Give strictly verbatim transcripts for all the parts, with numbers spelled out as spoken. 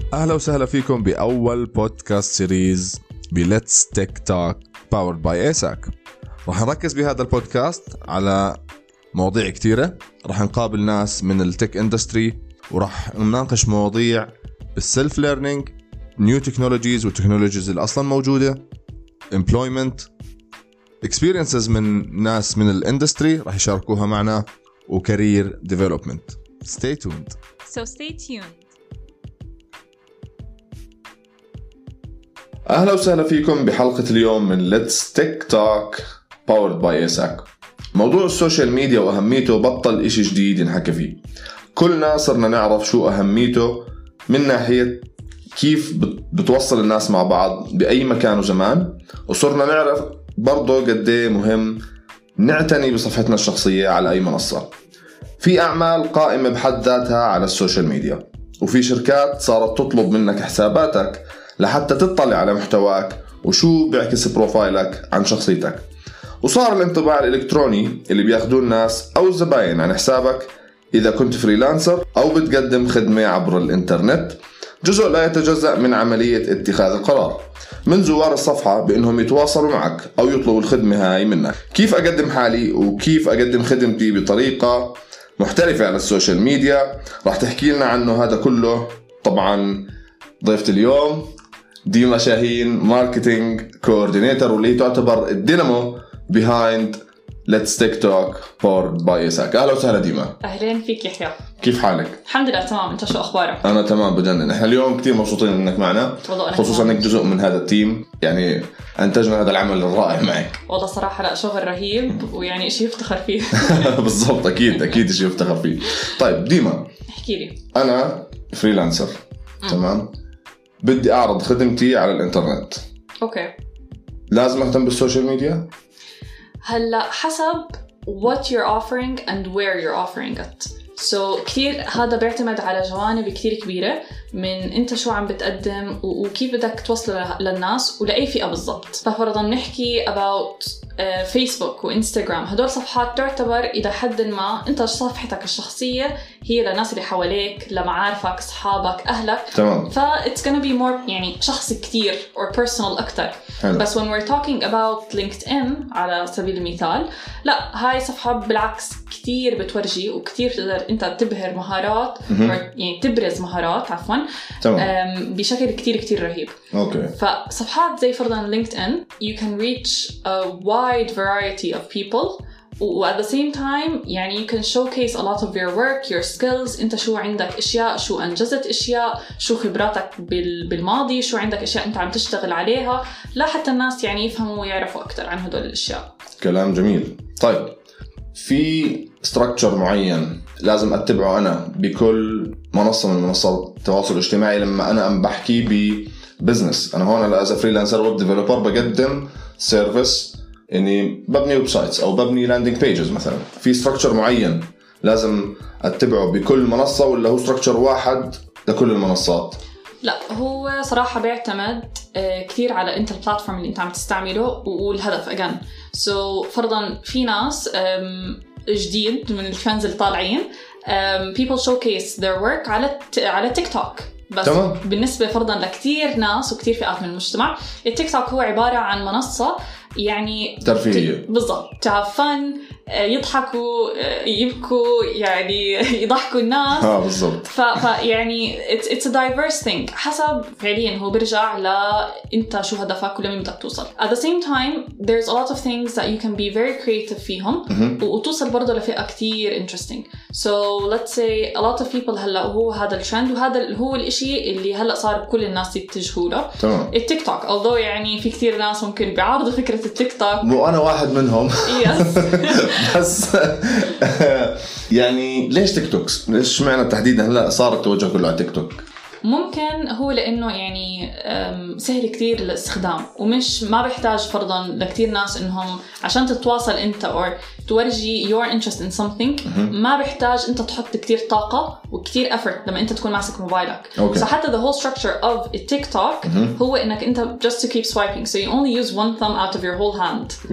أهلا وسهلا فيكم بأول بودكاست سيريز بليتس تيك توك باورد باي إيساك. رح نركز بهذا البودكاست على مواضيع كتيرة. رح نقابل ناس من التك اندستري ورح نناقش مواضيع بالسلف ليرنينج، نيو تكنولوجيز والتكنولوجيز اللي أصلا موجودة، employment experiences من ناس من الاندستري رح يشاركوها معنا، وكارير development. Stay tuned. So stay tuned. أهلا وسهلا فيكم بحلقة اليوم من Let's Tech Talk Powered by إيساك. موضوع السوشيال ميديا وأهميته بطل إشي جديد ينحكى فيه. كلنا صرنا نعرف شو أهميته من ناحية كيف بتوصل الناس مع بعض بأي مكان وزمان، وصرنا نعرف برضو قديه مهم نعتني بصفحتنا الشخصية على أي منصة. في أعمال قائمة بحد ذاتها على السوشيال ميديا، وفي شركات صارت تطلب منك حساباتك لحتى تطلع على محتواك وشو بيعكس بروفايلك عن شخصيتك. وصار الانطباع الإلكتروني اللي بياخدوه الناس أو الزباين عن حسابك إذا كنت فريلانسر أو بتقدم خدمة عبر الإنترنت جزء لا يتجزأ من عملية اتخاذ القرار من زوار الصفحة بأنهم يتواصلوا معك أو يطلبوا الخدمة هاي منك. كيف أقدم حالي وكيف أقدم خدمتي بطريقة محترفة على السوشيال ميديا راح تحكي لنا عنه هذا كله. طبعا ضيفة اليوم ديما شاهين، ماركتينج كوردينيتور، واللي تعتبر الدينامو behind Let's Tech Talk powered by إيساك. أهلا وسهلا ديما. أهلين فيك يحيى. كيف حالك؟ الحمد لله تمام. أنت شو أخبارك؟ أنا تمام بجنن. إحنا اليوم كتير مبسوطين إنك معنا، خصوصا إنك جزء من هذا التيم، يعني أنتجنا هذا العمل الرائع معك. والله صراحة لا، شغل رهيب ويعني إشي يفتخر فيه. بالضبط، أكيد أكيد إشي يفتخر فيه. طيب ديما، احكي لي. أنا فريلانسر، تمام؟ بدي أعرض خدمتي على الإنترنت. أوكي. لازم أهتم بالسوشيال ميديا؟ هلا حسب what you're offering and where you're offering it. so كتير هذا بيعتمد على جوانب كتير كبيرة من أنت شو عم بتقدم وكيف بدك توصله للناس ولأي فئة بالضبط. ففرضاً نحكي about فيسبوك وإنستغرام، هدول صفحات تعتبر إلى حد ما أنت صفحتك الشخصية هي للناس اللي حواليك، لمعارفك، أصحابك، أهلك. تمام. فا it's gonna be more يعني شخص كتير or personal أكتر. حلو. بس when we're talking about LinkedIn على سبيل المثال، لا هاي صفحة بالعكس كتير بتورجي وكتير تقدر أنت تبهر مهارات يعني تبرز مهارات عفواً بشكل كتير كتير رهيب. أوكي. فصفحات زي فرضاً LinkedIn you can reach a wide variety of people و at the same time يعني you can showcase a lot of your work, your skills. انت شو عندك اشياء، شو انجزت اشياء، شو خبراتك بالماضي، شو عندك اشياء انت عم تشتغل عليها، لا حتى الناس يعني يفهموا ويعرفوا اكثر عن هدول الاشياء. كلام جميل. طيب في structure معين لازم اتبعه انا بكل منصة من منصات التواصل الاجتماعي لما انا ام بحكي ببزنس؟ انا هون as a freelancer web developer بقدم سيرفيس، يعني ببني ويب سايتس او ببني لاندنج بيجز مثلا. في ستراكشر معين لازم اتبعه بكل منصه ولا هو ستراكشر واحد لكل المنصات؟ لا، هو صراحه بيعتمد كثير على انت البلاتفورم اللي انت عم تستعمله والهدف. اجان سو so, فرضا في ناس جديد من الفانز اللي طالعين people showcase their work على على تيك توك بس. تمام. بالنسبه فرضا لكثير ناس وكثير فئات من المجتمع التيك توك هو عباره عن منصه يعني ترفيهية. بالضبط، تعفن، يضحكوا، يبكوا، يعني يضحكوا الناس. اه بالضبط. ف يعني it's, it's a diverse thing. حسب فعليا هو برجع ل انت شو هدفك ولمين بدك توصل. At the same time there's a lot of things that you can be very creative فيهم وتوصل برضه لفئة كتير interesting. So let's say a lot of people هلا هو هذا الترند وهذا هو الاشي اللي هلا صار كل الناس يتجهوا له. تمام. التيك توك although يعني في كتير ناس ممكن بيعارضوا فكرة التيك توك، وانا واحد منهم. يس. بس يعني ليش تيك توك؟ ليش معنى تحديدا هلا صار التوجه كله على تيك توك؟ ممكن هو لأنه يعني سهل كتير الاستخدام ومش ما بيحتاج فرضاً لكتير ناس إنهم عشان تتواصل أنت أو تورجي your interest in something ما بيحتاج أنت تحط كتير طاقة وكتير effort لما أنت تكون ماسك موبايلك. okay. so حتى the whole structure of a TikTok هو إنك أنت just to keep swiping so you only use one thumb out of your whole hand.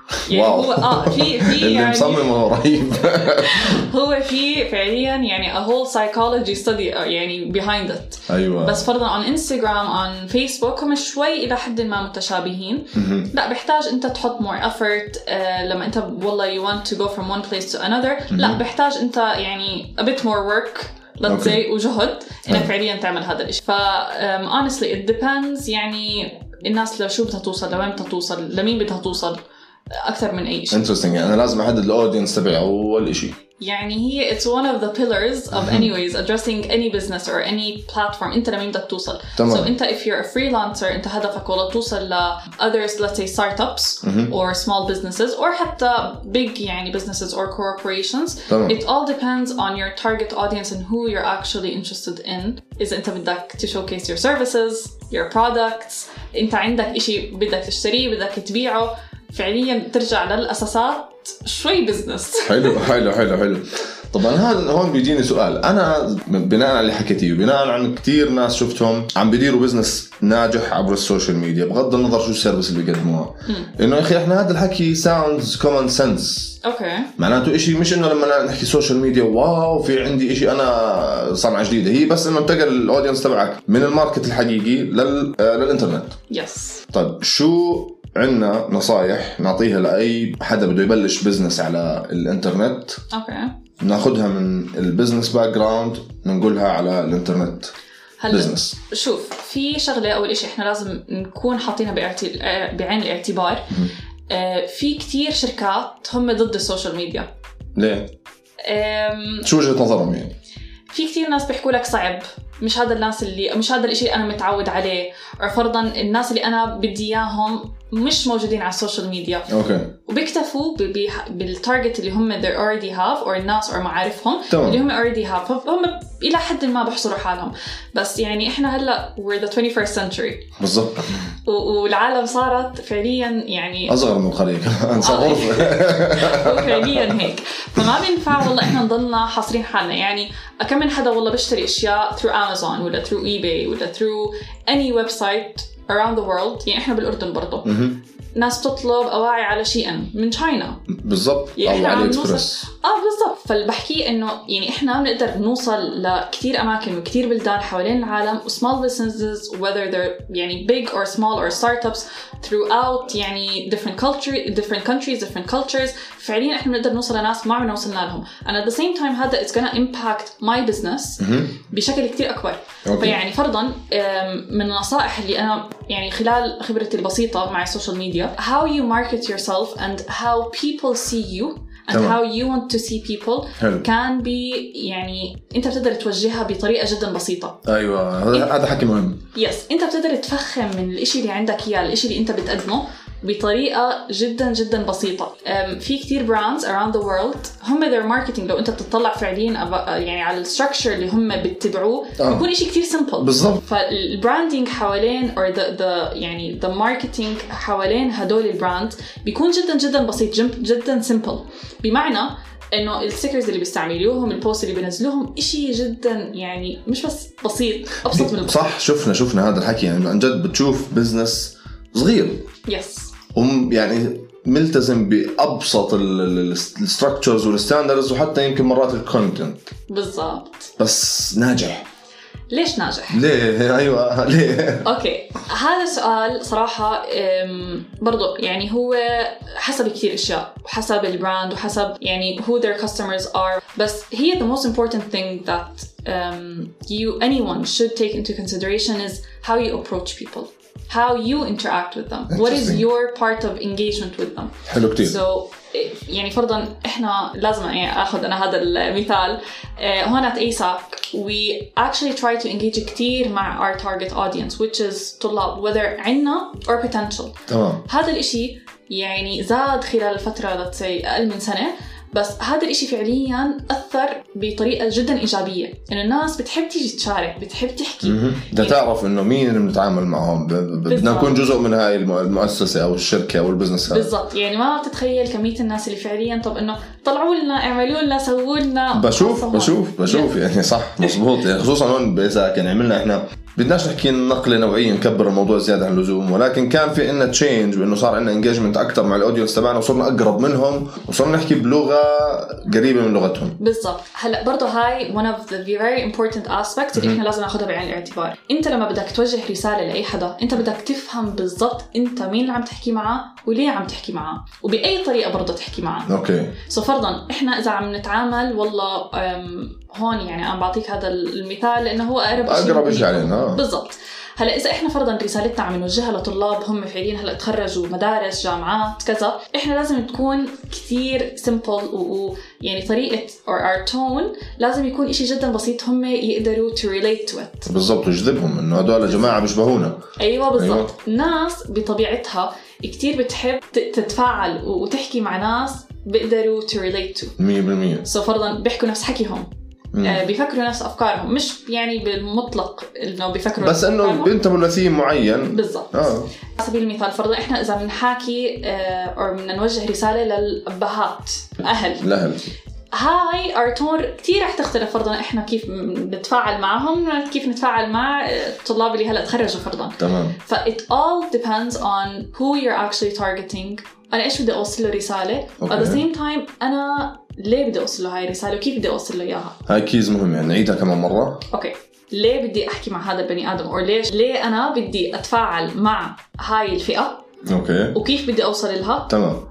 يعني هو اه في في اللي يعني مصممه رهيب. هو في فعليا يعني a whole psychology study يعني behind it. ايوه. بس فرضا on Instagram on Facebook هم شوي الى حد ما متشابهين. لا بحتاج انت تحط more effort آه لما انت والله you want to go from one place to another. لا بحتاج انت يعني a bit more work let's say okay. وجهد انك فعليا تعمل هذا الشيء. ف um, honestly it depends يعني الناس لو شو بدها توصل، لوين بدها توصل، لمين بدها توصل أكثر من أي شيء. interesting. يعني أنا لازم أحدد الأودينس تبعي أول شيء. يعني هي it's one of the pillars of anyways addressing any business or any platform. أنت لمين بدك توصل. تمام. So أنت if you're a freelancer أنت هدفك والله توصل ل others let's say startups or small businesses or حتى big يعني businesses or corporations. تمام. It all depends on your target audience and who you're actually interested in. إذا أنت بدك to showcase your services, your products، أنت عندك إشي بدك تشتريه بدك تبيعه، فعليا ترجع للأساسات شوي بزنس. حلو حلو حلو حلو. طبعا هذا هون بيجيني سؤال. أنا بناء على اللي حكيتيه وبناء عن كتير ناس شفتهم عم بيديروا بزنس ناجح عبر السوشيال ميديا بغض النظر شو السيرفيس اللي بيقدموها، إنه يا أخي إحنا هذا الحكي sounds common sense. أوكي. معناته إشي مش إنه لما نحكي سوشيال ميديا واو في عندي إشي أنا صنعة جديدة، هي بس إنه انتقل الأودينس تبعك من الماركت الحقيقي لل للإنترنت. يس. طيب شو عنا نصايح نعطيها لأي حدا بده يبلش بزنس على الانترنت؟ اوكي. ناخدها من البزنس باك جراوند ننقلها على الانترنت بزنس. شوف في شغلة أول إشي إحنا لازم نكون حاطينها بعين الاعتبار. آه في كتير شركات هم ضد السوشيال ميديا. ليه؟ شو وجهة نظرهم يعني؟ في كتير ناس بيحكوا لك صعب، مش هذا الناس اللي مش هذا الاشي اللي انا متعود عليه، او فرضا الناس اللي انا بدي اياهم مش موجودين على السوشيال ميديا. اوكي. وبيكتفوا بالتارجت اللي هم they already have or الناس or معارفهم طبعا. اللي هم already have، فهم الى حد ما بحصروا حالهم. بس يعني احنا هلا we're the twenty-first century بالضبط، والعالم صارت فعليا يعني اصغر من القريه كمان صغر فعليا هيك، فما بينفع والله احنا نضلنا حاصرين حالنا. يعني كم من حدا والله بيشتري اشياء through Amazon ولا through eBay ولا through any website around the world. يعني احنا بالاردن برضه ناس تطلب أواعي على شي إن من تشاينا بالضبط يعني أو علي إكسبرس. آه بالضبط. فالبحكي إنه يعني إحنا بنقدر نوصل لكتير أماكن وكتير بلدان حوالين العالم small businesses whether they're يعني big or small or startups throughout يعني different culture different countries different cultures. فعليا إحنا بنقدر نوصل لناس ما عمرنا وصلنا لهم and at the same time هذا it's gonna impact my business بشكل كتير أكبر. okay. فيعني فرضاً من النصائح اللي أنا يعني خلال خبرتي البسيطة مع السوشيال ميديا how you market yourself and how people see you and تمام. how you want to see people حلو. can be يعني أنت بتقدر توجهها بطريقة جدا بسيطة. أيوة هذا حكي مهم. يس أنت بتقدر تفخم من الإشي اللي عندك إياه الإشي اللي أنت بتقدمه بطريقة جدا جدا بسيطة. في كتير brands around the world هم their marketing لو أنت بتطلع فعليا يعني على الستراكشر اللي هم بتتبعوه آه. بيكون إشي كتير simple. بالضبط. فالبراندينج حوالين or the, the يعني the marketing حوالين هدول البراند بيكون جدا جدا بسيط جدا simple. بمعنى إنه الستيكرز اللي بيستعملوهم البوست اللي بينزلوهم إشي جدا يعني مش بس بسيط أبسط من البسيط. صح. شفنا شفنا هذا الحكي يعني عن جد بتشوف بزنس صغير يس هم يعني ملتزم بأبسط الستراكتشرز والستاندردز وحتى يمكن مرات الكونتنت بالضبط بس ناجح. ليش ناجح؟ ليه؟ أيوة ليه؟ أوكي هذا سؤال صراحة برضو يعني هو حسب كتير أشياء وحسب البراند وحسب يعني who their customers are. بس هي the most important thing that um, you anyone should take into consideration is how you approach people. How you interact with them. What is your part of engagement with them? حلو كتير. So يعني فرضاً إحنا لازم يعني أخذ أنا هذا المثال هنا at ASAC we actually try to engage كتير مع our target audience which is طلاب whether عنا or potential. تمام. هذا الإشي يعني زاد خلال الفترة let's say أقل من سنة بس هذا الإشي فعلياً أثر بطريقة جداً إيجابية إنه الناس بتحب تيجي تشارك بتحب تحكي بدها تعرف إنه مين اللي بنتعامل معهم بدنا نكون جزء من هاي المؤسسة أو الشركة أو البزنس هذا. بالضبط. يعني ما تتخيل كمية الناس اللي فعلياً طب إنه طلعوا لنا اعملوا لنا سووا لنا بشوف بشوف بشوف يعني صح مزبوط يعني خصوصاً هون بإساك يعني عملنا إحنا بدناش نحكي نقلة نوعية نكبر الموضوع زيادة عن اللزوم، ولكن كان في إنه تشينج بإنه صار عندنا انجيجمنت أكتر مع الأودينس تبعنا وصرنا أقرب منهم وصرنا نحكي بلغة قريبة من لغتهم. بالضبط. هلا برضه هاي one of the very important aspects اللي إحنا لازم ناخدها بعين الاعتبار. أنت لما بدك توجه رسالة لأي حدا أنت بدك تفهم بالضبط أنت مين اللي عم تحكي معه وليه عم تحكي معه وبأي طريقة برضه تحكي معه. أوكي. سو فرضاً إحنا إذا عم نتعامل والله هون يعني أنا بعطيك هذا المثال لأنه هو أقرب شيء أقرب شيء علينا. بالضبط. هلا إذا إحنا فرضاً رسالتنا عم نوجهها لطلاب هم فعليا هلا تخرجوا مدارس جامعات كذا، إحنا لازم تكون كثير simple ويعني طريقة or our tone لازم يكون إشي جداً بسيط هم يقدروا to relate to it. بالضبط ويجذبهم إنه هدول جماعة بيشبهونا. أيوة بالضبط. أيوة. ناس بطبيعتها كتير بتحب تتفاعل وتحكي مع ناس بيقدروا to relate to مية بالمية. سو فرضاً بيحكوا نفس حكيهم. آه بيفكروا نفس أفكارهم، مش يعني بالمطلق إنه بيفكروا بس إنه بينتبهوا لثيم معين. بالضبط. آه. على سبيل المثال فرضاً إحنا إذا بنحكي آه أو بدنا نوجه رسالة للأبهات أهل الأهل هاي أرتون كتير رح تختلف فرضاً إحنا كيف نتفاعل معهم كيف نتفاعل مع الطلاب اللي هلأ تخرجوا فرضاً. تمام. ف it all depends on who you're actually targeting. أنا إيش بدي أوصل له رسالة okay. at the same time أنا ليه بدي أوصل له هاي الرسالة وكيف بدي أوصل له إياها. هاي كيز مهم يعني نعيدها كمان مرة. أوكي. ليه بدي أحكي مع هذا البني آدم أو ليش ليه أنا بدي أتفاعل مع هاي الفئة. أوكي. وكيف بدي أوصل لها. تمام.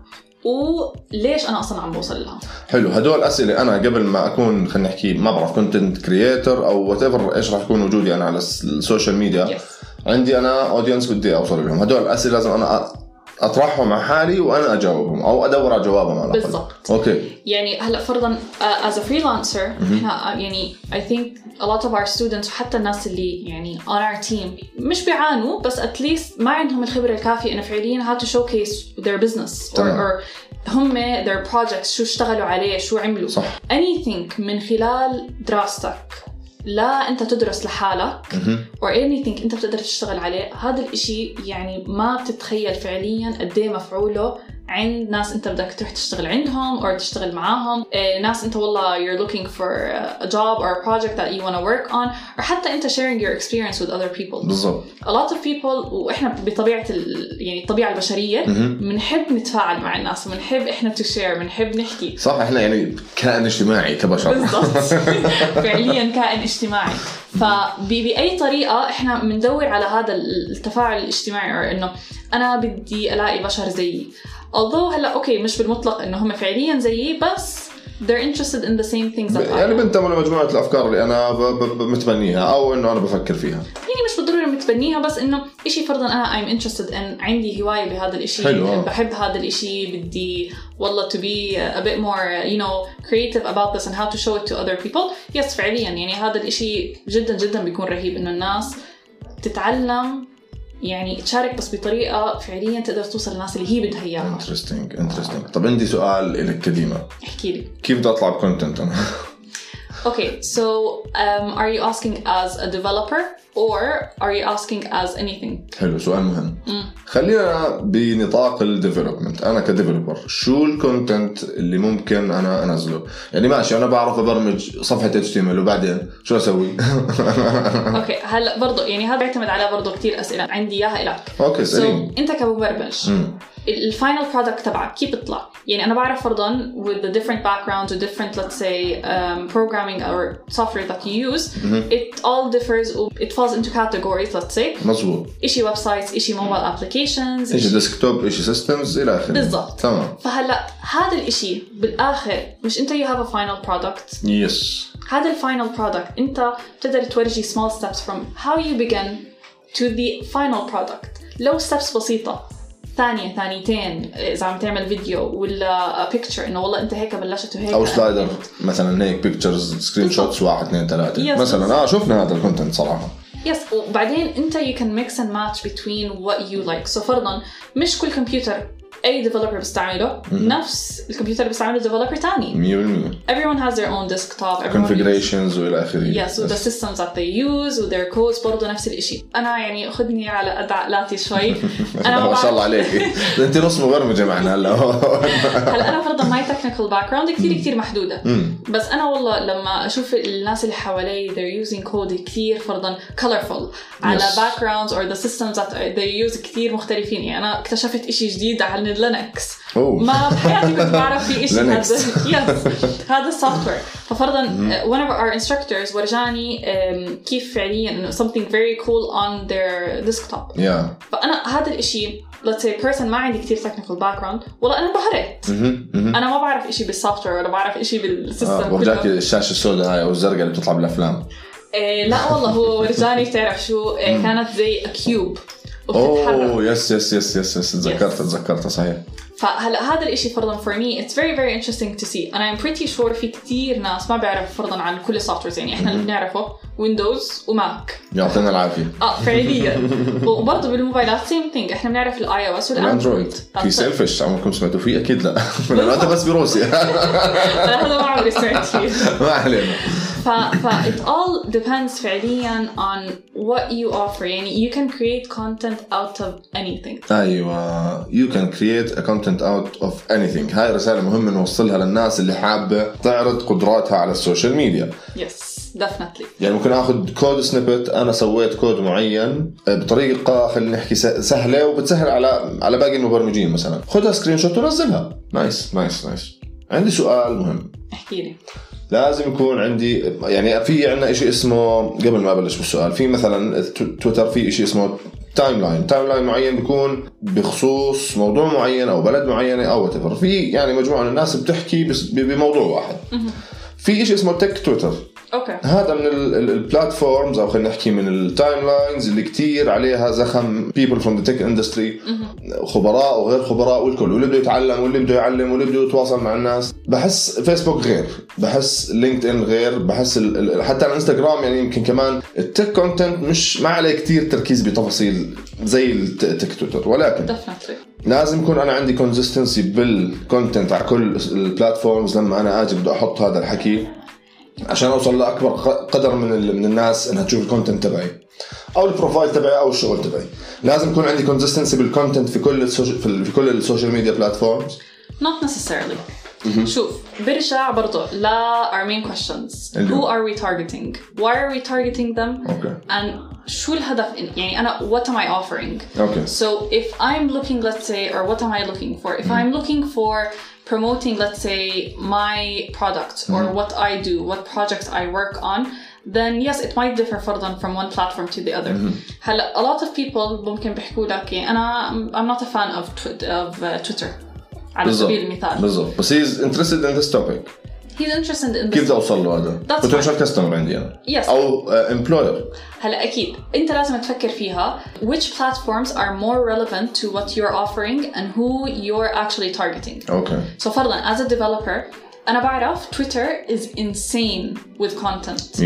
وليش أنا أصلاً عم بوصل لها. حلو. هدول أسئلة أنا قبل ما أكون خلينا نحكي ما بعرف كونتنت كرييتر أو whatever إيش راح يكون وجودي أنا على السوشيال ميديا. yes. عندي أنا أودينس بدي أوصل لهم. هدول الأسئلة لازم أنا أطرحهم مع حالي وأنا أجاوبهم أو أدور على جوابهم على بالضبط. أوكي. يعني هلأ فرضاً uh, as a freelancer إحنا يعني I think a lot of our students وحتى الناس اللي يعني on our team مش بيعانوا بس at least ما عندهم الخبرة الكافية إنه فعلياً how to showcase their business or, or هم their projects شو اشتغلوا عليه شو عملوا. صح. anything من خلال دراستك لا أنت تدرس لحالك or anything أنت بتقدر تشتغل عليه هذا الإشي يعني ما بتتخيل فعلياً قديه مفعوله عند ناس أنت بدك تروح تشتغل عندهم أو تشتغل معاهم. إيه ناس أنت والله you're looking for a job or a project that you want to work on or حتى أنت sharing your experience with other people. بالضبط. a lot of people وإحنا بطبيعة ال... يعني الطبيعة البشرية بنحب نتفاعل مع الناس وبنحب إحنا to share بنحب نحكي. صح. إحنا يعني كائن اجتماعي كبشر. بالضبط. فعليا كائن اجتماعي. فبأي طريقة إحنا بندور على هذا التفاعل الاجتماعي أو إنه أنا بدي ألاقي بشر زيي. although هلا أوكي مش بالمطلق إنه هم فعليا زيي بس they're interested in the same things that يعني بنتموا لمجموعة الأفكار اللي أنا متبنيها أو إنه أنا بفكر فيها. يعني مش بالضرورة متبنيها بس إنه إشي فرضاً أنا I'm interested in عندي هواية بهذا الإشي. حلو. بحب هذا الإشي بدي والله to be a bit more you know creative about this and how to show it to other people. yes فعليا يعني هذا الإشي جدا جدا بيكون رهيب إنه الناس تتعلم يعني تشارك بس بطريقة فعليا تقدر توصل للناس اللي هي بدها إياها. interesting interesting. طب عندي سؤال لك كديمة. احكي لي. كيف بدي أطلع بكونتنت أنا؟ Okay, so um, are you asking as a developer or are you asking as anything? حلو. سؤال مهم. mm. خلينا بنطاق الديفلوبمنت. أنا كديفلوبر شو الكونتنت اللي ممكن أنا أنزله؟ يعني ماشي أنا بعرف أبرمج صفحة إتش تي إم إل وبعدين شو أسوي؟ أوكي هلا برضو يعني هذا بيعتمد على برضو كتير أسئلة عندي إياها إلك. أوكي سليم. so, أنت كمبرمج mm. الفاينل برودكت تبعك كيف بيطلع؟ يعني أنا بعرف فرضاً with the different backgrounds or different let's say um, programming or software that you use mm-hmm. it all differs it falls into categories let's say. مظبوط. إشي ويب سايتس إشي موبايل applications إشي ديسكتوب إشي سيستمز إلى آخره. بالضبط. تمام. فهلأ هذا الإشي بالآخر مش أنت you have a final product. yes. هذا الفاينل برودكت أنت بتقدر تورجي small steps from how you begin to the final product. لو steps بسيطة ثانية ثانيتين إذا عم تعمل فيديو ولا picture إنه والله أنت هيك بلشت وهيك أو سلايدر مثلا هيك pictures سكرين شوتس واحد اثنين ثلاثة مثلا آه شوفنا هذا الكونتنت صراحة. يس. وبعدين أنت you can mix and match between what you like. so فرضاً مش كل كمبيوتر أي developer بيستعمله نفس الكمبيوتر بيستعمله developer تاني. مية بالمية. Everyone has their own desktop. configurations وإلى آخره. Yes, so the systems that they use و their codes برضو نفس الإشي. أنا يعني أخذني على قد عقلاتي شوي. أنا ما شاء الله عليك. أنت نص مبرمجة معنا هلا. هلا أنا فرضاً my technical background كتير كتير محدودة. بس أنا والله لما أشوف الناس اللي حوالي they're using code كتير فرضاً colorful على yes. backgrounds or the systems that they use كتير مختلفين. يعني أنا اكتشفت إشي جديد على لينكس ما بحياتي كنت بعرف في إشي هذا yes هذا السوفتوير. ففرضاً mm-hmm. one of our instructors ورجاني um, كيف فعلياً something very cool on their desktop. yeah. فأنا هذا الإشي let's say person ما عندي كتير technical background والله أنا انبهرت. mm-hmm. mm-hmm. أنا ما بعرف إشي بالسوفتوير ولا بعرف إشي بالسيستم. آه ورجاك الشاشة السوداء هاي أو الزرقاء اللي بتطلع بالأفلام. إيه لا والله هو ورجاني تعرف شو إيه كانت زي كيوب اوه يس يس يس يس يس تذكرت تذكرت صحيح. فهلا هذا الاشي فرضا for me it's very very interesting to see and I'm pretty sure في كتير ناس ما بيعرف فرضا عن كل السوفتويرز. يعني احنا اللي بنعرفه ويندوز وماك يعطينا العافيه اه فعليا. وبرضه بالموبايلات same thing احنا بنعرف الاي او اس والاندرويد. في سيلفش عمركم سمعتوا فيه اكيد لا لانه انت بس بروسيا. هذا ما عمري سمعت فيه. ما علينا. ف ف it all depends فعليا on what you offer. يعني you can create content out of anything. أيوة you can create a content out of anything. هاي رسالة مهمة نوصلها للناس اللي حابة تعرض قدراتها على السوشيال ميديا. yes definitely. يعني ممكن أخذ كود سنيبت. أنا سويت كود معين بطريقة خلينا نحكي سهلة وبتسهل على على باقي المبرمجين. مثلا خذها سكرين شوت ونزلها. نايس نايس نايس. عندي سؤال مهم. احكي لي. لازم يكون عندي يعني في عنا إشي اسمه قبل ما أبلش بالسؤال في مثلا تويتر في إشي اسمه تايم لاين. تايم لاين معين بيكون بخصوص موضوع معين أو بلد معينة أو whatever. في يعني مجموعة من الناس بتحكي بموضوع واحد. في إشي اسمه تك تويتر. أوكي. هذا من البلاتفورمز أو خلينا نحكي من التايم لاينز اللي كتير عليها زخم people from the tech industry خبراء وغير خبراء والكل واللي بده يتعلم واللي بده يعلم واللي بده يتواصل مع الناس. بحس فيسبوك غير، بحس لينكد إن غير، بحس حتى الانستغرام يعني يمكن كمان التك كونتنت مش ما عليه كتير تركيز بتفاصيل زي التك تويتر. ولكن Definitely. لازم يكون أنا عندي consistency بالكونتنت على كل البلاتفورمز لما أنا أجي بدي أحط هذا الحكي عشان أوصل لأكبر قدر من من الناس إنها تشوف الكونتنت تبعي أو البروفايل تبعي أو الشغل تبعي. لازم يكون عندي consistency بالكونتنت في كل في كل السوشيال ميديا بلاتفورمز. Not necessarily. Mm-hmm. شوف برجع برضو لا our main questions. Who are we targeting? Why are we targeting them? Okay. And شو الهدف يعني أنا what am I offering? Okay. So if I'm looking let's say or what am I looking for? If mm-hmm. I'm looking for promoting let's say my product or mm-hmm. what I do, what projects I work on, then yes it might differ فرضاً from one platform to the other. Mm-hmm. هلا a lot of people ممكن بيحكوا لك أنا I'm not a fan of tw- of uh, Twitter على سبيل المثال. بالضبط. بس he's interested in this topic. He's interested in this. كيف توصل له هذا؟ potential customer عندي أنا. Yes. أو uh, employer. هلا أكيد أنت لازم تفكر فيها which platforms are more relevant to what you're offering and who you're actually targeting. Okay. So فرضاً as a developer أنا بعرف Twitter is insane with content.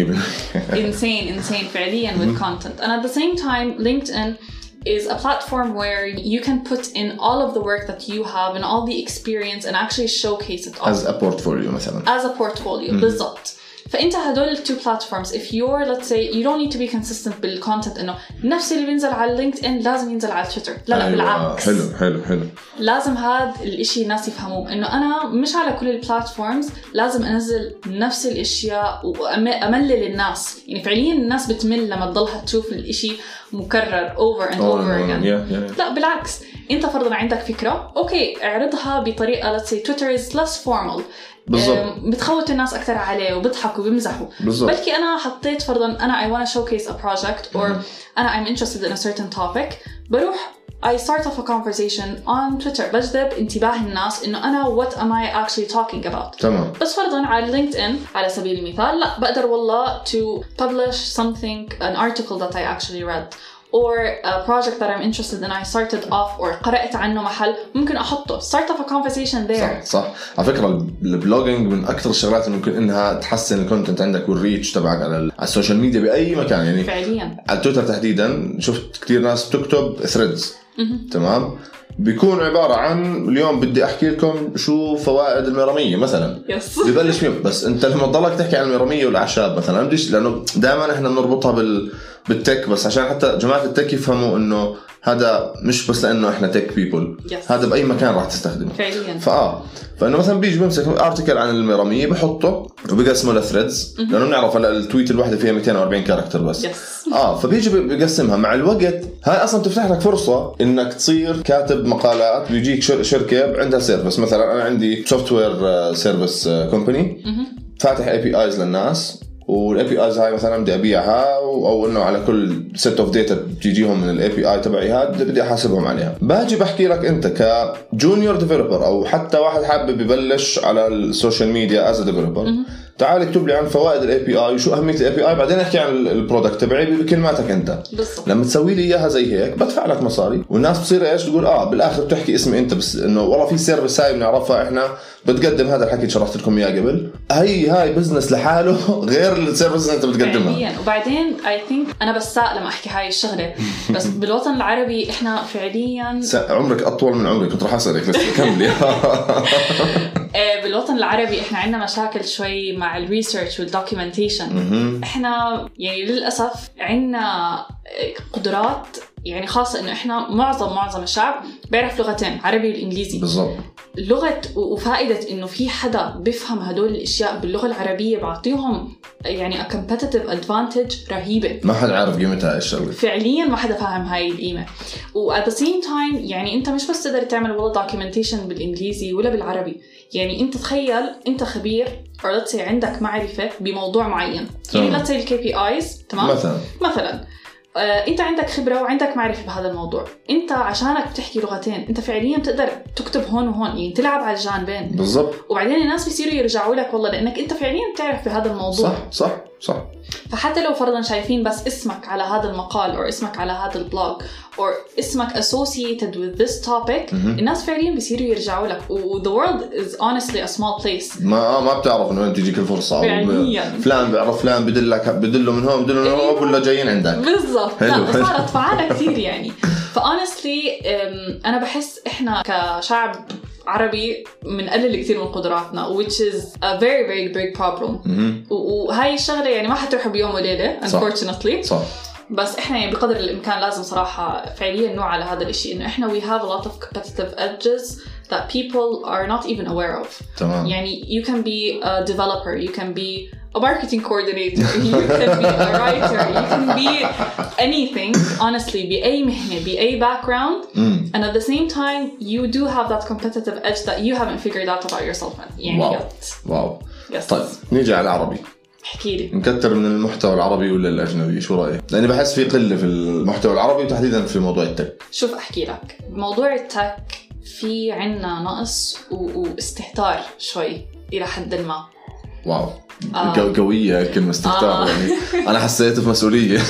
insane insane فعلياً with content. And at the same time LinkedIn is a platform where you can put in all of the work that you have and all the experience and actually showcase it all. As a portfolio مثلا. As a portfolio بالضبط. فأنت هدول two platforms if you're let's say you don't need to be consistent بالcontent إنه نفس اللي بينزل على LinkedIn لازم ينزل على تويتر. لا لا أيوة. بالعكس. حلو حلو حلو. لازم هذا الإشي الناس يفهموه إنه أنا مش على كل البلاتفورمز لازم أنزل نفس الأشياء وأملل الناس. يعني فعليا الناس بتمل لما تضلها تشوف الإشي مكرر over and oh, over no, again. yeah, yeah, yeah. لا بالعكس أنت فرضاً عندك فكرة أوكي اعرضها بطريقة let's say Twitter is less formal. بالضبط. بتخوت الناس أكتر عليه وبضحكوا وبيمزحوا. بالضبط. بلكي أنا حطيت فرضاً أنا I want to showcase a project or mm-hmm. أنا I'm interested in a certain topic بروح I start off a conversation on Twitter بجذب انتباه الناس إنه أنا what am I actually talking about. تمام. بس فرضاً على LinkedIn على سبيل المثال لا بقدر والله to publish something an article that I actually read or a project that I'm interested in I started off or قرأت عنه محل ممكن أحطه start off a conversation there. صح صح. على فكرة البلوجينج من أكثر الشغلات اللي ممكن إنها تحسن الكونتنت عندك والريتش تبعك على على السوشيال ميديا بأي مكان. يعني فعليا على تويتر تحديدا شفت كتير ناس بتكتب threads. تمام. بيكون عبارة عن اليوم بدي أحكي لكم شو فوائد الميرمية مثلا. يس. ببلش فيهم. بس أنت لما تضلك تحكي عن الميرمية والأعشاب مثلا بديش، لأنه دائما إحنا بنربطها بال بالتك، بس عشان حتى جماعة التك يفهموا إنه هذا مش بس لأنه إحنا تك بيبل، هذا بأي مكان راح تستخدمه فعليا. فآه فإنه مثلا بيجي بمسك أرتيكل عن الميرمية بحطه وبقسمه لثريدز، لأنه بنعرف هلا التويت الواحدة فيها مئتين وأربعين كاركتر بس. yes. آه فبيجي بقسمها مع الوقت. هاي أصلا تفتح لك فرصة إنك تصير كاتب مقالات. بيجيك شركة عندها سيرفيس، مثلا أنا عندي سوفت وير سيرفيس كومباني فاتح اي بي ايز للناس، والاي بي ايز هاي مثلا بدي ابيعها، او انه على كل سيت اوف داتا بتجيهم من الاي بي اي تبعي هذا بدي احاسبهم عليها. باجي بحكي لك انت كجونيور ديفلوبر او حتى واحد حابب يبلش على السوشيال ميديا از ديفلوبر، تعال اكتب لي عن فوائد الاي بي اي وشو اهميه الاي بي اي، بعدين احكي عن البرودكت تبعي بكلماتك انت. بالضبط. لما تسوي لي اياها زي هيك بدفع لك مصاري، والناس بتصير ايش تقول اه بالاخر بتحكي اسمي انت بس، انه والله في سيرفيس هاي بنعرفها احنا بتقدم هذا الحكي اللي شرحت لكم اياه قبل. هي هاي بزنس لحاله غير السيرفيس اللي انت بتقدمها فعليا. وبعدين اي ثينك انا بس ساق لما احكي هاي الشغله، بس بالوطن العربي احنا فعليا عمرك اطول من عمري، كنت راح اسالك بس كملي. بالوطن العربي احنا عندنا مشاكل شوي مع الريسيرش والدوكيومنتيشن. احنا يعني للاسف عندنا قدرات، يعني خاصه انه احنا معظم معظم الشعب بيعرف لغتين، عربي والانجليزي. بالضبط. لغه وفائده انه في حدا بيفهم هدول الاشياء باللغه العربيه بعطيهم يعني a competitive advantage رهيبه. ما حد عارف قيمتها ايش الشغله، فعليا ما حدا فاهم هاي القيمه. و at the same time يعني انت مش بس تقدر تعمل والله documentation بالانجليزي ولا بالعربي، يعني انت تخيل انت خبير or let's say عندك معرفه بموضوع معين، يعني let's say الكي بي ايز تمام مثلا مثلا آه، انت عندك خبره وعندك معرفه بهذا الموضوع، انت عشانك بتحكي لغتين انت فعليا بتقدر تكتب هون وهون، يعني تلعب على الجانبين. بالضبط. وبعدين الناس بيصيروا يرجعوا لك والله لانك انت فعليا بتعرف بهذا الموضوع. صح صح صح. فحتى لو فرضا شايفين بس اسمك على هذا المقال او اسمك على هذا البلوج او اسمك associated with this topic، م-م. الناس فعليا بيصيروا يرجعوا لك. و the world is honestly a small place. ما ما بتعرف انه انت تجيك الفرصه فعليا. فلان بيعرف فلان بدلك بدله من هون بدله من هون ولا جايين عندك. بالضبط. لا صارت فعالة كثير يعني. فhonestly انا بحس احنا كشعب عربي بنقلل كثير من قدراتنا which is a very very big problem. وهاي الشغله يعني ما حتروح بيوم وليله unfortunately. صح. بس احنا يعني بقدر الامكان لازم صراحه فعليا نوع على هذا الشيء، انه احنا we have a lot of competitive edges that people are not even aware of. تمام. يعني you can be a developer, you can be a marketing coordinator, you can be a writer, you can be anything honestly, بأي مهنة بأي background mm. and at the same time you do have that competitive edge that you haven't figured out about yourself. يعني واو yet. واو. yes. طيب نيجي على العربي. احكي لي نكتر من المحتوى العربي ولا الأجنبي، شو رأيك؟ لأني بحس في قلة في المحتوى العربي وتحديدا في موضوع التك. شوف أحكي لك موضوع التك في عنا نقص واستهتار شوي إلى حد ما. واو آه. قوية كلمة استهتار. آه. يعني أنا حسيت في مسؤولية.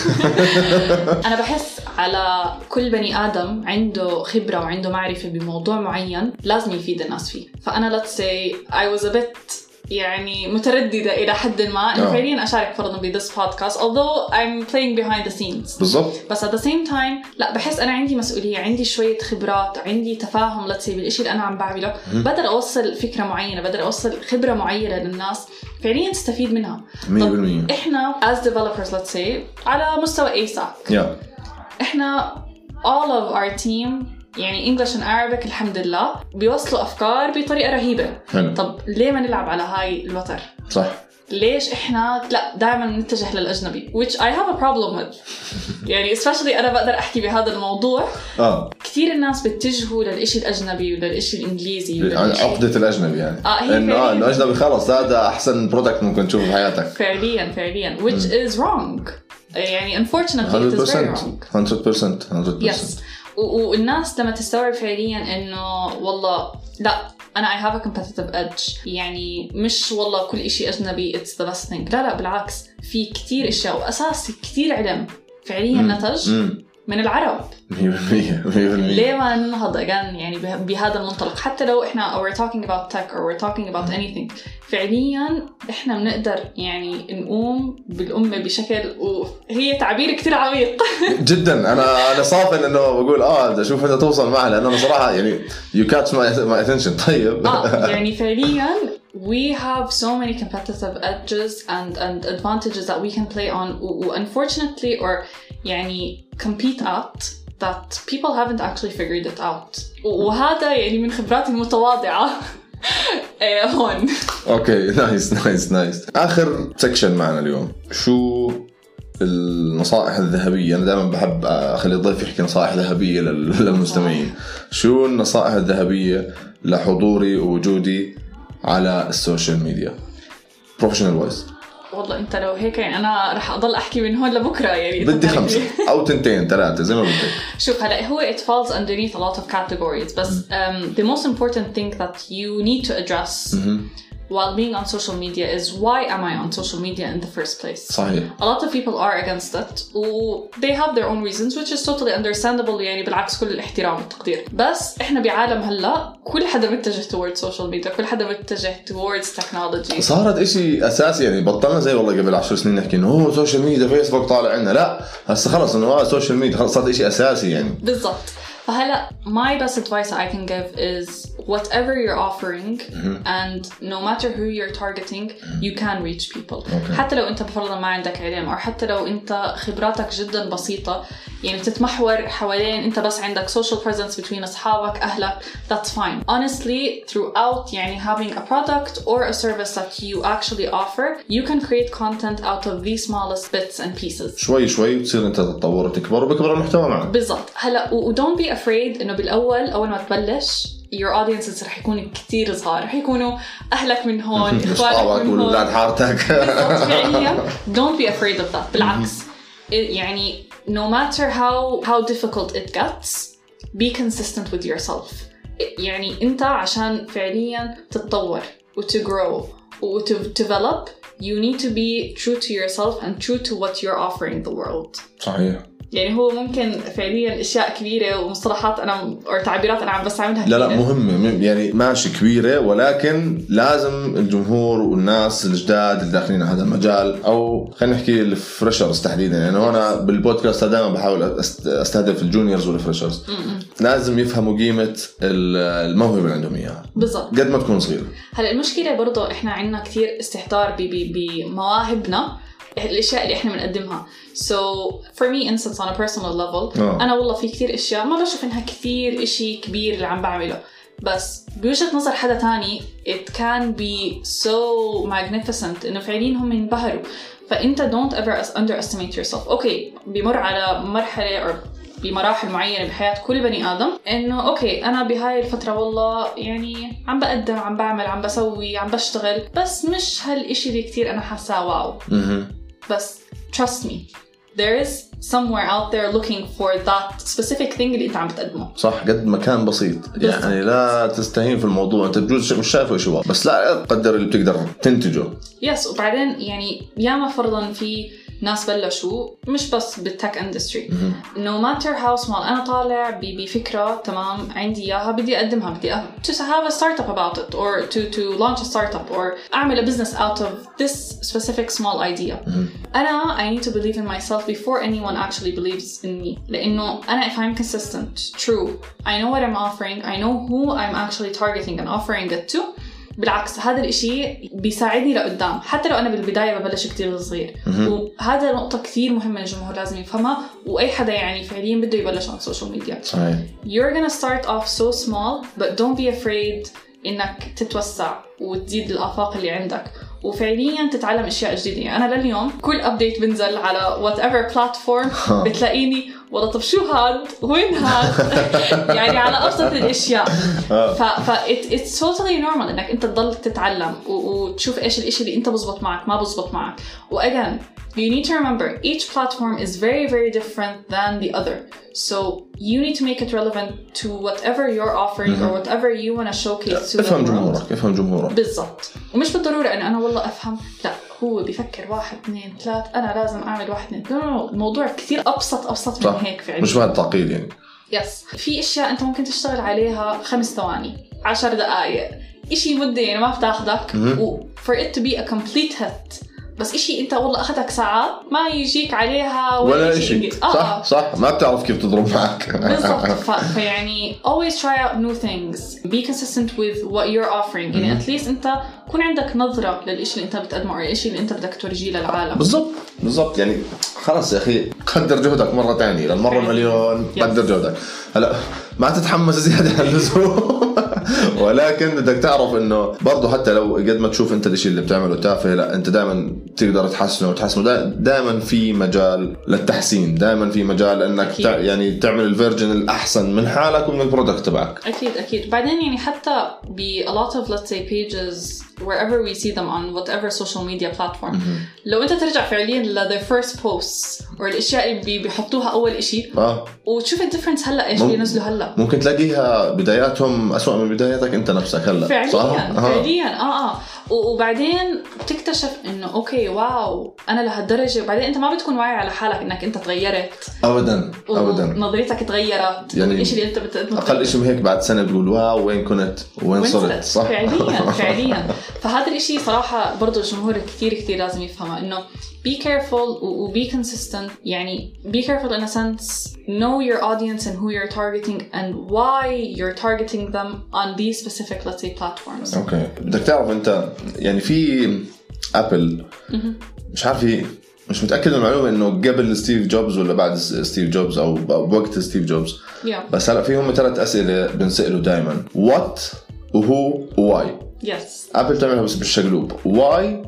أنا بحس على كل بني آدم عنده خبرة وعنده معرفة بموضوع معين لازم يفيد الناس فيه. فأنا let's say I was a bit يعني مترددة إلى حد ما إنه فعليا أشارك فرضاً ب this podcast although I'm playing behind the scenes. بالضبط. بس at the same time لا بحس أنا عندي مسؤولية، عندي شوية خبرات، عندي تفاهم let's say بالإشي اللي أنا عم بعمله، بقدر أوصل فكرة معينة، بقدر أوصل خبرة معينة للناس فعليا تستفيد منها. مية بالمية. إحنا as developers let's say على مستوى إيساك yeah. إحنا all of our team يعني English and Arabic الحمد لله بيوصلوا أفكار بطريقة رهيبة. حلو. طب ليه ما نلعب على هاي الوتر؟ صح. ليش إحنا لا دائما نتجه للأجنبي which I have a problem with. يعني especially أنا بقدر أحكي بهذا الموضوع. آه. كثير الناس بتتجهوا للإشي الأجنبي وللإشي الإنجليزي. عقدة الأجنبي يعني. آه هي إنه الأجنبي خلاص هذا أحسن برودكت ممكن تشوفه بحياتك. فعليا فعليا which م. is wrong. يعني unfortunately it is very wrong. one hundred percent one hundred percent. Yes. والناس لما تستوعب فعليا إنه والله لا أنا I have a competitive edge، يعني مش والله كل إشي أجنبي it's the best thing. لا لا بالعكس، في كتير إشياء وأساس كتير علم فعليا مم. نتج مم. من العرب. مية بالمية مية بالمية. ليه ما ننهض again يعني بهذا المنطلق؟ حتى لو إحنا we're talking about tech or we're talking about anything، فعليا إحنا بنقدر يعني نقوم بالأمة بشكل، وهي تعبير كتير عميق جدا. أنا أنا صافن إنه بقول آه شوف أنت توصل معه، لأنه أنا صراحة يعني you catch my my attention. طيب آه يعني فعليا we have so many competitive edges and and advantages that we can play on unfortunately or يعني compete at that people haven't actually figured it out. وهذا يعني من خبراتي المتواضعة هون. اوكي نايس نايس نايس. آخر سكشن معنا اليوم، شو النصائح الذهبية؟ أنا دائما بحب أخلي الضيف يحكي نصائح ذهبية للمستمعين. شو النصائح الذهبية لحضوري ووجودي على السوشيال ميديا بروفيشنال وايز؟ والله انت لو هيك يعني انا رح اضل احكي من هون لبكره يعني. بدي خمسه او تنتين ثلاثه زي ما بدك. شوف هلا هو it falls underneath a lot of categories بس um, the most important thing that you need to address mm-hmm. while being on social media is why am I on social media in the first place. صحيح. A lot of people are against it و they have their own reasons which is totally understandable يعني بالعكس كل الاحترام والتقدير. بس احنا بعالم هلا كل حدا متجه towards social media، كل حدا متجه towards technology. صارت اشي اساسي يعني. بطلنا زي والله قبل عشر سنين نحكي انه هو سوشيال ميديا فيسبوك طالع عنا، لا هسه خلص انه هو سوشيال ميديا خلص صارت اشي اساسي يعني. بالضبط. فهلا my best advice I can give is whatever you're offering mm-hmm. and no matter who you're targeting mm-hmm. you can reach people. Okay. حتى لو انت بفرضا ما عندك علم او حتى لو انت خبراتك جدا بسيطة يعني بتتمحور حوالين انت بس عندك social presence between اصحابك اهلك، that's fine. Honestly throughout يعني having a product or a service that you actually offer you can create content out of the smallest bits and pieces. شوي شوي وتصير انت تتطور وتكبر وبكبر المحتوى معك. بالضبط. هلا و don't be afraid إنه بالأول أول ما تبلش your audiences رح يكونوا كتير صغار، رح يكونوا أهلك من هون، إخوانك من هون، ولاد حارتك. don't be afraid of that. بالعكس يعني no matter how how difficult it gets be consistent with yourself. يعني أنت عشان فعليا تتطور و to grow و to develop you need to be true to yourself and true to what you're offering the world. صحيح. يعني هو ممكن فعليا اشياء كبيره ومصطلحات انا او تعبيرات انا عم بستعملها كثير. لا لا مهمه يعني ماشي كبيره، ولكن لازم الجمهور والناس الجداد اللي داخلين هذا المجال او خلينا نحكي الفريشرز تحديدا يعني انا بالبودكاست دائما بحاول استهدف الجونيورز والفريشرز لازم يفهموا قيمه الموهبه اللي عندهم اياها بالضبط قد ما تكون صغيره. هلا المشكله برضه احنا عندنا كثير استهتار بمواهبنا الاشياء اللي احنا بنقدمها. So for me instance on a personal level oh. انا والله في كثير اشياء ما بشوف انها كثير اشي كبير اللي عم بعمله، بس بوجهة نظر حدا تاني it can be so magnificent انه فعليا هم ينبهروا. فانت don't ever underestimate yourself. اوكي بمر على مرحلة او بمراحل معينة بحياة كل بني آدم إنه أوكي أنا بهاي الفترة والله يعني عم بقدم عم بعمل عم بسوي عم بشتغل بس مش هالإشي اللي كتير أنا حاسة واو. بس trust me there is somewhere out there looking for that specific thing اللي أنت عم بتقدمه. صح قد ما كان بسيط بالضبط. يعني لا تستهين في الموضوع، أنت بجوز مش شايفه إيش هو بس لا قدر اللي بتقدر تنتجه. يس yes. وبعدين يعني ياما فرضاً في ناس بلشوا مش بس بالتك اندستري no matter how small. أنا طالع بفكرة تمام عندي إياها بدي أقدمها بدي to have a startup about it or to to launch a startup or أعمل a business out of this specific small idea. أنا I need to believe in myself before anyone actually believes in me. لأنه أنا if I'm consistent true I know what I'm offering I know who I'm actually targeting and offering it to. بالعكس هذا الاشي بيساعدني لقدام حتى لو أنا بالبداية ببلش كتير صغير. وهذا نقطة كتير مهمة الجمهور لازم يفهمها وأي حدا يعني فعليا بده يبلش على السوشيال ميديا. صحيح. You're gonna start off so small but don't be afraid إنك تتوسع وتزيد الآفاق اللي عندك وفعليا تتعلم أشياء جديدة. يعني أنا لليوم كل أبديت بنزل على whatever platform بتلاقيني والله طب شو هاد وين هاد يعني على أبسط الأشياء. ف ف it, it's totally normal إنك أنت تضل تتعلم وتشوف إيش الإشي اللي أنت بزبط معك ما بزبط معك. و again you need to remember each platform is very very different than the other, so you need to make it relevant to whatever you're offering mm-hmm. or whatever you want to showcase to افهم جمهورك افهم جمهورك بالضبط. ومش بالضرورة أن أنا والله أفهم لا هو بيفكر واحد اثنين ثلاث أنا لازم أعمل واحد اثنين. الموضوع كتير أبسط أبسط من هيك فعليا. مش بعد تعقيد يعني. يس في أشياء أنت ممكن تشتغل عليها خمس ثواني عشر دقائق إشي مدة يعني ما بتاخدك و for it to be a complete hit. بس إشي أنت والله أخذك ساعات ما يجيك عليها ولا, ولا إشي. صح آه. صح ما بتعرف كيف تضرب معك. بالضبط. فيعني always try out new things. Be consistent with what you're offering. يعني at least أنت كون عندك نظرة للإشي اللي أنت بتقدمه أو الإشي اللي أنت بدك تورجيه للعالم. بالضبط بالضبط. يعني خلاص يا أخي قدر جهدك مرة تانية للمرة مليون. قدر جهدك. هلا ما تتحمس زيادة عن اللزوم. ولكن بدك تعرف انه برضه حتى لو قد ما تشوف انت الشيء اللي بتعمله تافه لا انت دائما تقدر تحسنه وتحسنه. دائما في مجال للتحسين. دائما في مجال انك تع... يعني تعمل الفيرجن الاحسن من حالك ومن البرودكت تبعك. اكيد اكيد. بعدين يعني حتى ب a lot of let's say pages wherever we see them on whatever social media platform mm-hmm. لو انت ترجع فعليا ل their first posts or الاشياء اللي بيحطوها اول اشي آه. وتشوف الديفرنس هلا ايش بينزلوا هلا. ممكن تلاقيها بداياتهم أسوأ من بداياتك انت نفسك هلا. فعليا صح؟ فعليا اه اه وبعدين بتكتشف انه اوكي واو انا لهالدرجه. وبعدين انت ما بتكون واعي على حالك انك انت تغيرت ابدا ابدا. نظرتك تغيرت يعني الشيء اللي انت بتقدمه اقل شيء هيك بعد سنه بتقول واو وين كنت وين صرت. صح فعليا فعليا. فهذا الشيء صراحه برضو الجمهور كثير كثير لازم يفهمه انه be careful و be consistent. يعني be careful in a sense know your audience and who you're targeting and why you're targeting them on these specific let's say platforms. اوكي بدك تعرف انت يعني في ابل مش عارف مش متاكد من المعلومه انه قبل ستيف جوبز ولا بعد ستيف جوبز او بوقت ستيف جوبز yeah. بس هلا فيهم ثلاث اسئله بنساله دائما what وهو وواي. yes. ابل تعملها بس بالشقلوب واي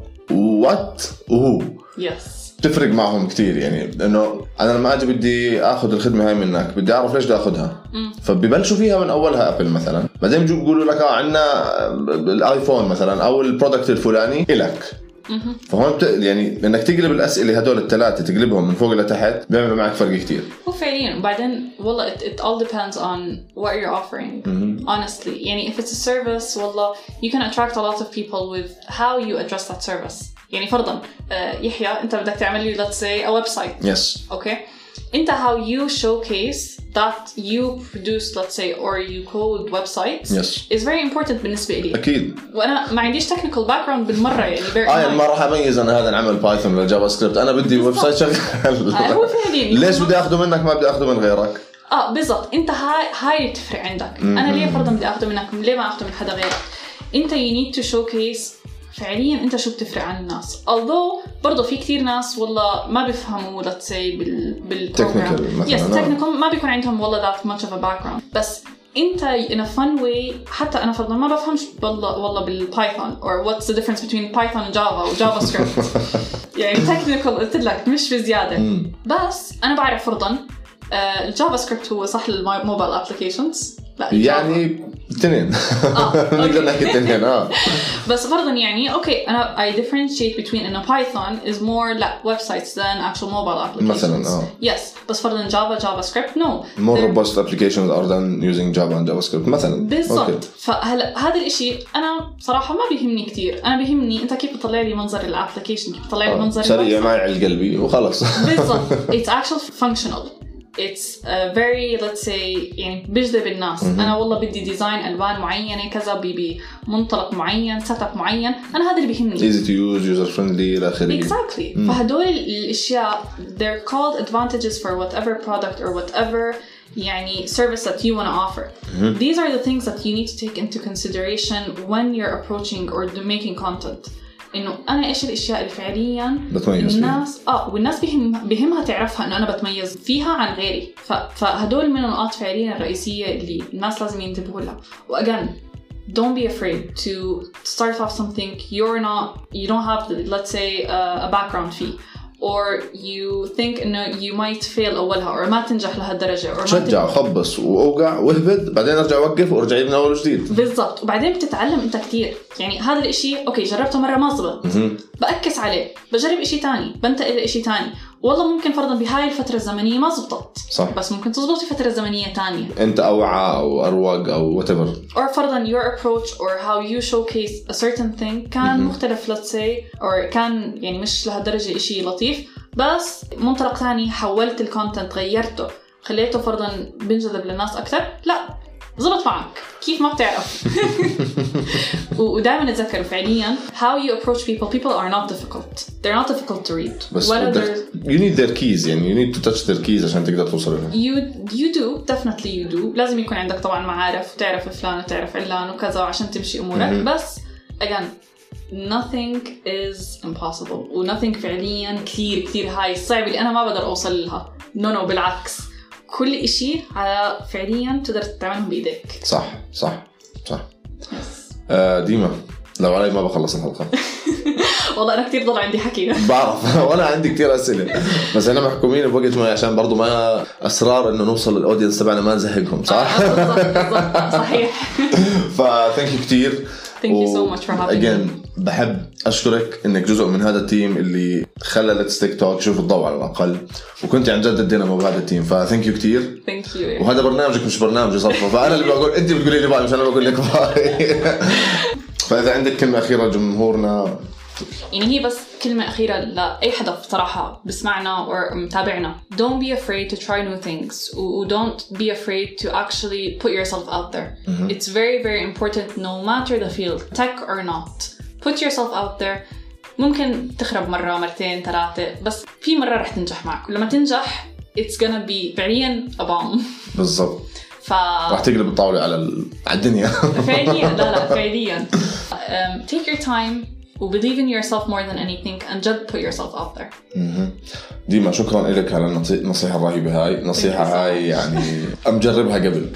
وات وهو. yes. تفرق معهم كتير. يعني انه انا لما اجي بدي اخذ الخدمه هاي منك بدي اعرف ليش بدي اخذها فببلشوا فيها من اولها ابل مثلا بعدين بيجوا بيقولوا لك اه عندنا الايفون مثلا او البرودكت الفلاني الك. فهون بت... يعني انك تقلب الاسئله هدول الثلاثه تقلبهم من فوق لتحت بيعملوا معك فرق كتير. هو فعليا. وبعدين والله it, it all depends on what you're offering mm-hmm. honestly. يعني if it's a service والله you can attract a lot of people with how you address that service. يعني فرضا يحيى انت بدك تعمل لي let's say a website. yes. okay انت how you showcase that you produce let's say or you code websites yes. is very important بالنسبة لي. أكيد. وأنا ما عنديش technical background بالمرة يعني. آه يعني ما راح أميز أنا هذا نعمل بايثون ولا جافا سكريبت. أنا بدي ويب سايت شغال. آه هو فعليا. ليش بدي أخذه منك ما بدي أخذه من غيرك؟ آه بالضبط. أنت هاي هاي تفرق عندك. م-م. أنا ليه فرضا بدي أخذه منك ليه ما أخذه من حدا غيرك؟ أنت you need to showcase فعليا انت شو بتفرق عن الناس. although برضو في كتير ناس والله ما بيفهموا let's say بال بالبروجرام. yes technical ما بيكون عندهم والله that much of a background. بس انت in a fun way حتى انا فرضا ما بفهمش والله والله بالبايثون or what's the difference between Python and Java و Java script. يعني technical قلت لك مش بزيادة. بس انا بعرف فرضا الجافا سكريبت هو صح للموبايل ابلكيشنز يعني اثنين نقدر نحكي اثنين اه بس فرضا يعني اوكي انا I differentiate between انه Python is more like websites than actual mobile applications مثلا اه yes بس فرضا Java JavaScript no more robust applications are than using Java and JavaScript مثلا بالضبط. فهلا هذا الاشي انا صراحه ما بيهمني كتير. انا بيهمني انت كيف بتطلع لي منظر الابلكيشن كيف بتطلع لي منظر سريع معي على قلبي وخلص بالضبط. it's actually functional. it's a very let's say يعني بجذب الناس. م-م. أنا والله بدي ديزاين ألوان معينة كذا بمنطلق معين سيت اب معين أنا هذا اللي بيهمني. easy to use user friendly إلى آخره. exactly. م- فهدول الأشياء they're called advantages for whatever product or whatever يعني service that you want to offer. Mm-hmm. These are the things that you need to take into consideration when you're approaching or making content. إنه أنا إيش الأشياء اللي فعلياً الناس آه والناس بهم بهمها تعرفها إنه أنا بتميز فيها عن غيري. ف فهدول من النقاط فعلياً الرئيسية اللي الناس لازم ينتبهوا لها. وأجان don't be afraid to start off something you're not you don't have the, let's say uh, a background فيه. or you think إنه you might fail أولها or ما تنجح لهالدرجة or شجع خبص وأوقع وهبد بعدين أرجع أوقف وأرجع من أول جديد. بالضبط. وبعدين بتتعلم أنت كتير. يعني هذا الإشي أوكي جربته مرة ما زبط بأكس عليه بجرب إشي تاني بنتقل إشي تاني والله ممكن فرضا بهاي الفترة الزمنية ما زبطت صح. بس ممكن تزبط في فترة زمنية تانية أنت أوعى أو أروق أو whatever. or فرضا your approach or how you showcase a certain thing كان م-م. مختلف let's say or كان يعني مش لهالدرجة إشي لطيف بس منطلق تاني حولت الكونتنت غيرته خليته فرضا بنجذب للناس أكثر لا زبط معك كيف ما بتعرف. ودائما نتذكر فعليا how you approach people people are not difficult they're not difficult to read بس you need their keys يعني you need to touch their keys عشان تقدر توصل لهم. you you do definitely you do لازم يكون عندك طبعا معارف وتعرف فلان وتعرف علان وكذا عشان تمشي أمورك mm-hmm. بس again nothing is impossible و nothing فعليا كثير كثير هاي صعب اللي أنا ما بقدر أوصل لها no no بالعكس كل إشي على فعليا تقدر تعمله بإيدك. صح صح صح. آه ديما لو علي ما بخلص الحلقة. والله أنا كتير ضل عندي حكي. بعرف وأنا عندي كتير أسئلة بس أنا محكومين بوقت معي عشان برضو ما أسرار إنه نوصل للأودينس تبعنا ما نزهقهم صح؟ صحيح. فثانك يو كتير. Thank you so much for having again me. بحب أشكرك إنك جزء من هذا التيم اللي خلى Let's Tech Talk يشوف الضوء على الأقل وكنت عن جد الدينامو بهذا التيم فتhank you كتير. Thank you. وهذا برنامجك مش برنامجي صفة فأنا اللي بقول أنت بتقولي لي باي مش أنا بقول لك باي. فإذا عندك كلمة أخيرة لجمهورنا. يعني هي بس كلمة أخيرة لأي حدا بصراحة بسمعنا أو متابعنا don't be afraid to try new things و don't be afraid to actually put yourself out there. Mm-hmm. It's very very important no matter the field tech or not put yourself out there. ممكن تخرب مرة مرتين ثلاثة بس في مرة رح تنجح معك ولما تنجح it's gonna be فعليا a bomb. بالضبط. ف... راح تقلب الطاولة على ال... على الدنيا. فعليا لا لا فعليا um, take your time و believe in yourself more than anything and just put yourself out there. ديما شكرا لك على النصيحة الرهيبة هاي النصيحة هاي يعني أمجربها قبل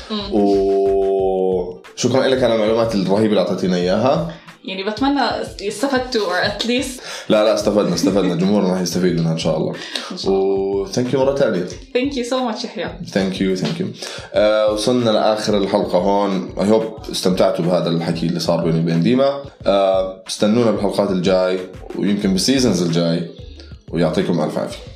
وشكرا لك على المعلومات الرهيبة اللي أعطيتينا إياها يعني بتمنى استفدتوا or at least لا لا استفدنا استفدنا جمهورنا راح يستفيد منها إن شاء الله و thank you مرة تانية. thank you so much يحيى. thank you thank you. uh, وصلنا لآخر الحلقة هون I hope استمتعتوا بهذا الحكي اللي صار بيني وبين ديما. uh, استنونا بالحلقات الجاي ويمكن بالسيزنز الجاي ويعطيكم ألف عافية.